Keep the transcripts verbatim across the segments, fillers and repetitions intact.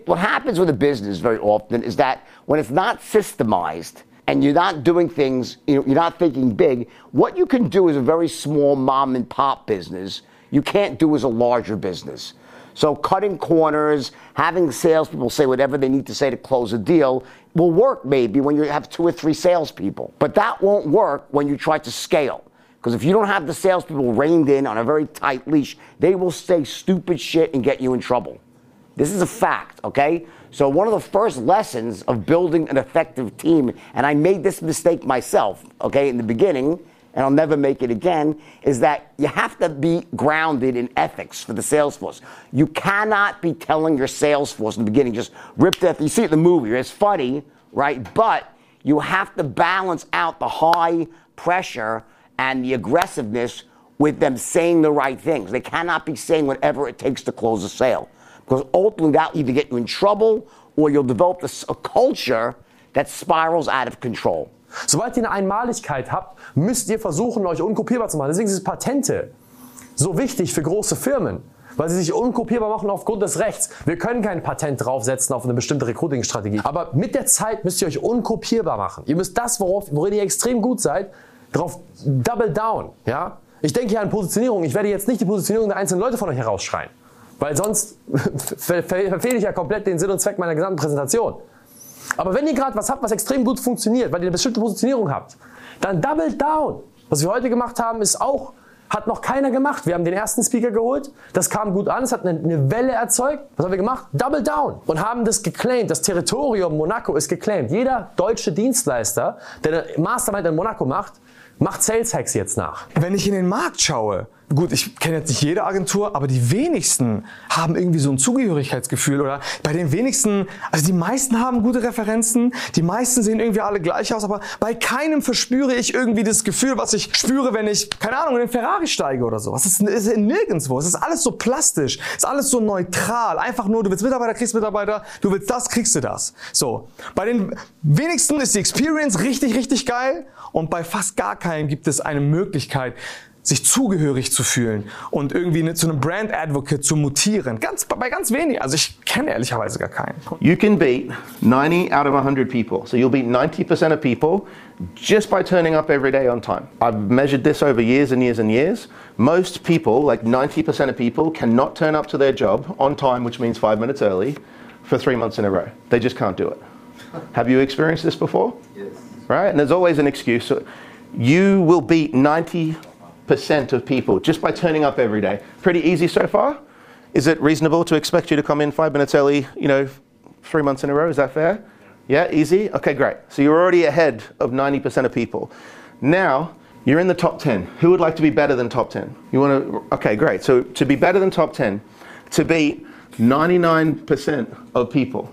What happens with a business very often is that when it's not systemized and you're not doing things, you know, you're not thinking big, what you can do as a very small mom and pop business, you can't do as a larger business. So cutting corners, having salespeople say whatever they need to say to close a deal will work maybe when you have two or three salespeople. But that won't work when you try to scale. Because if you don't have the salespeople reined in on a very tight leash, they will say stupid shit and get you in trouble. This is a fact, okay? So one of the first lessons of building an effective team, and I made this mistake myself, okay, in the beginning, and I'll never make it again, is that you have to be grounded in ethics for the sales force. You cannot be telling your sales force in the beginning, just rip that. You see it in the movie, it's funny, right? But you have to balance out the high pressure and the aggressiveness with them saying the right things. They cannot be saying whatever it takes to close a sale. Because ultimately that will either get you in trouble or you'll develop a, a culture that spirals out of control. Sobald ihr eine Einmaligkeit habt, müsst ihr versuchen, euch unkopierbar zu machen. Deswegen sind Patente so wichtig für große Firmen, weil sie sich unkopierbar machen aufgrund des Rechts. Wir können kein Patent draufsetzen auf eine bestimmte Recruiting-Strategie. Aber mit der Zeit müsst ihr euch unkopierbar machen. Ihr müsst das, worauf, worin ihr extrem gut seid, darauf double down. Ja? Ich denke hier an Positionierung. Ich werde jetzt nicht die Positionierung der einzelnen Leute von euch herausschreien, weil sonst ver ver verfehle ich ja komplett den Sinn und Zweck meiner gesamten Präsentation. Aber wenn ihr gerade was habt, was extrem gut funktioniert, weil ihr eine bestimmte Positionierung habt, dann double down. Was wir heute gemacht haben, ist auch, hat noch keiner gemacht. Wir haben den ersten Speaker geholt, das kam gut an, es hat eine, eine Welle erzeugt. Was haben wir gemacht? Double down. Und haben das geclaimed. Das Territorium Monaco ist geclaimed. Jeder deutsche Dienstleister, der eine Mastermind in Monaco macht, macht Sales Hacks jetzt nach. Wenn ich in den Markt schaue, gut, ich kenne jetzt nicht jede Agentur, aber die wenigsten haben irgendwie so ein Zugehörigkeitsgefühl oder bei den wenigsten, also die meisten haben gute Referenzen, die meisten sehen irgendwie alle gleich aus, aber bei keinem verspüre ich irgendwie das Gefühl, was ich spüre, wenn ich, keine Ahnung, in den Ferrari steige oder so. Es ist, es ist nirgendwo, es ist alles so plastisch, es ist alles so neutral, einfach nur, du willst Mitarbeiter, kriegst Mitarbeiter, du willst das, kriegst du das. So, bei den wenigsten ist die Experience richtig, richtig geil und bei fast gar keinem gibt es eine Möglichkeit, sich zugehörig zu fühlen und irgendwie zu einem Brand Advocate zu mutieren. Ganz, bei ganz wenigen. Also ich kenne ehrlicherweise gar keinen. You can beat ninety out of one hundred people. So you'll beat ninety percent of people just by turning up every day on time. I've measured this over years and years and years. Most people, like ninety percent of people, cannot turn up to their job on time, which means five minutes early, for three months in a row. They just can't do it. Have you experienced this before? Yes. Right? And there's always an excuse. So you will beat ninety percent of people just by turning up every day. Pretty easy so far. Is it reasonable to expect you to come in five minutes early, you know, three months in a row? Is that fair? Yeah, easy? Okay, great. So you're already ahead of ninety percent of people. Now, you're in the top ten. Who would like to be better than top ten? You want to, okay, great. So to be better than top ten, to beat ninety-nine percent of people,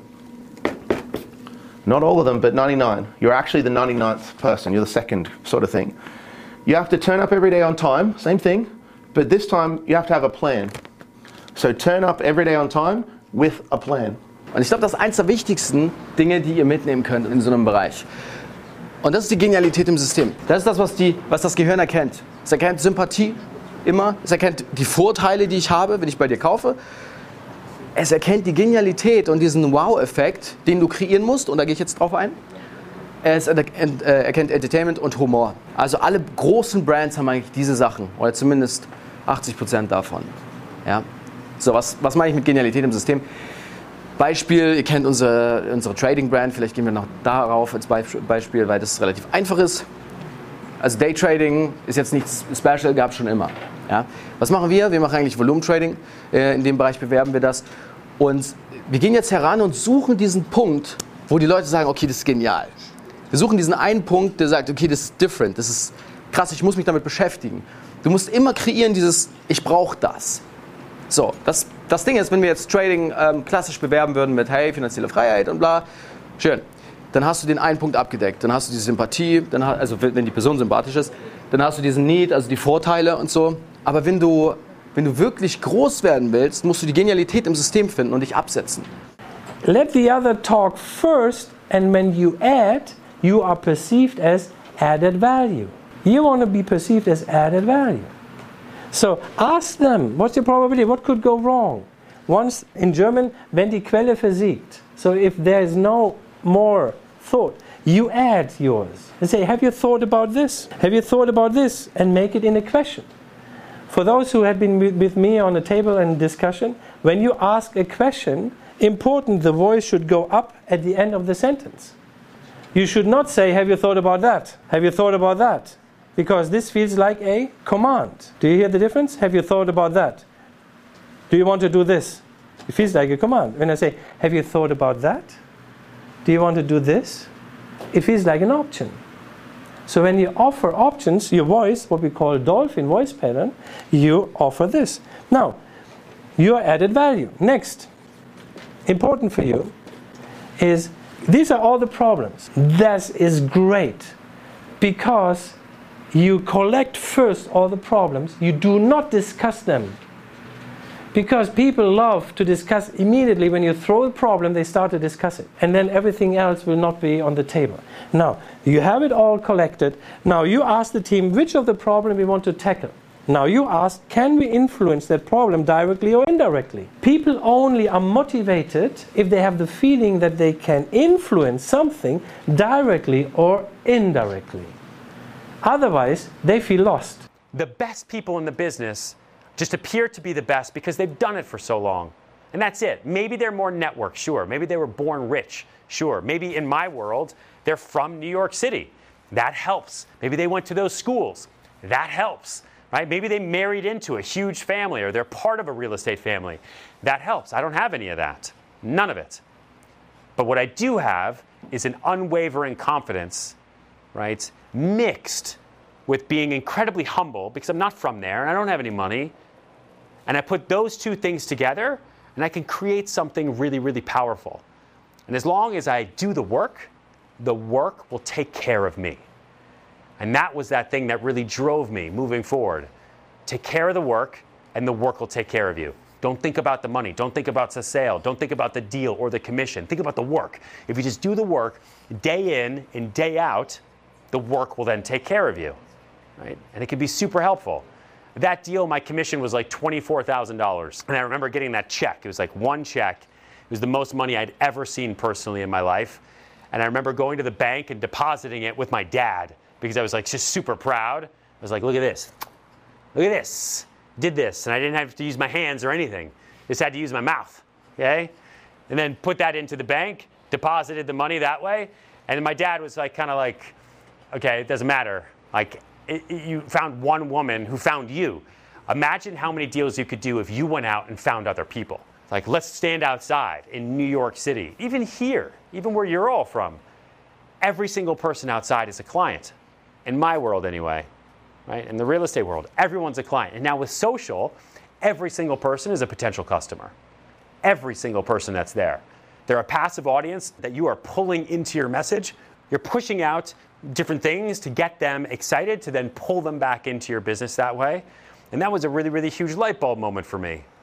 not all of them, but ninety-nine. You're actually the ninety-ninth person. You're the second sort of thing. You have to turn up every day on time, same thing, but this time you have to have a plan. So turn up every day on time with a plan. Und ich glaube, das ist eins der wichtigsten Dinge, die ihr mitnehmen könnt in so einem Bereich. Und das ist die Genialität im System. Das ist das, was, die, was das Gehirn erkennt. Es erkennt Sympathie immer, es erkennt die Vorteile, die ich habe, wenn ich bei dir kaufe. Es erkennt die Genialität und diesen Wow-Effekt, den du kreieren musst, und da gehe ich jetzt drauf ein. Es erkennt Entertainment und Humor. Also alle großen Brands haben eigentlich diese Sachen, oder zumindest achtzig Prozent davon. Ja? So, was, was meine ich mit Genialität im System? Beispiel, ihr kennt unsere, unsere Trading-Brand, vielleicht gehen wir noch darauf als Beispiel, weil das relativ einfach ist. Also Daytrading ist jetzt nichts Special, gab es schon immer. Ja? Was machen wir? Wir machen eigentlich Volumetrading, in dem Bereich bewerben wir das. Und wir gehen jetzt heran und suchen diesen Punkt, wo die Leute sagen, okay, das ist genial. Wir suchen diesen einen Punkt, der sagt, okay, das ist different, das ist krass, ich muss mich damit beschäftigen. Du musst immer kreieren dieses, ich brauche das. So, das, das Ding ist, wenn wir jetzt Trading ähm, klassisch bewerben würden mit, hey, finanzielle Freiheit und bla, schön. Dann hast du den einen Punkt abgedeckt, dann hast du die Sympathie, dann, also wenn die Person sympathisch ist, dann hast du diesen Need, also die Vorteile und so. Aber wenn du, wenn du wirklich groß werden willst, musst du die Genialität im System finden und dich absetzen. Let the other talk first, and when you add, you are perceived as added value. You want to be perceived as added value. So ask them, what's your probability? What could go wrong? once in German, wenn die Quelle versiegt. So if there is no more thought, you add yours and say, have you thought about this? Have you thought about this? And make it in a question. For those who have been with me on a table and discussion, when you ask a question, important, the voice should go up at the end of the sentence. You should not say, have you thought about that? Have you thought about that? Because this feels like a command. Do you hear the difference? Have you thought about that? Do you want to do this? It feels like a command. When I say, have you thought about that? Do you want to do this? It feels like an option. So when you offer options, your voice, what we call dolphin voice pattern, you offer this. Now, your added value. Next, important for you is, these are all the problems. That is great because you collect first all the problems. You do not discuss them. Because people love to discuss immediately. When you throw a problem, they start to discuss it. And then everything else will not be on the table. Now, you have it all collected. Now you ask the team which of the problem we want to tackle. Now you ask, can we influence that problem directly or indirectly? People only are motivated if they have the feeling that they can influence something directly or indirectly. Otherwise, they feel lost. The best people in the business just appear to be the best because they've done it for so long. And that's it. Maybe they're more networked, sure. Maybe they were born rich, sure. Maybe in my world, they're from New York City. That helps. Maybe they went to those schools. That helps. Right? Maybe they married into a huge family or they're part of a real estate family. That helps. I don't have any of that. None of it. But what I do have is an unwavering confidence, right, mixed with being incredibly humble because I'm not from there and I don't have any money. And I put those two things together and I can create something really, really powerful. And as long as I do the work, the work will take care of me. And that was that thing that really drove me moving forward. Take care of the work, and the work will take care of you. Don't think about the money. Don't think about the sale. Don't think about the deal or the commission. Think about the work. If you just do the work day in and day out, the work will then take care of you. Right? And it can be super helpful. That deal, my commission was like twenty-four thousand dollars. And I remember getting that check. It was like one check. It was the most money I'd ever seen personally in my life. And I remember going to the bank and depositing it with my dad, because I was like just super proud. I was like, look at this. Look at this. Did this. And I didn't have to use my hands or anything. Just had to use my mouth. Okay? And then put that into the bank, deposited the money that way. And then my dad was like, kind of like, okay, it doesn't matter. Like, it, it, you found one woman who found you. Imagine how many deals you could do if you went out and found other people. Like, let's stand outside in New York City. Even here, even where you're all from. Every single person outside is a client. In my world anyway, right? In the real estate world, everyone's a client. And now with social, every single person is a potential customer. Every single person that's there. They're a passive audience that you are pulling into your message. You're pushing out different things to get them excited, to then pull them back into your business that way. And that was a really, really huge light bulb moment for me.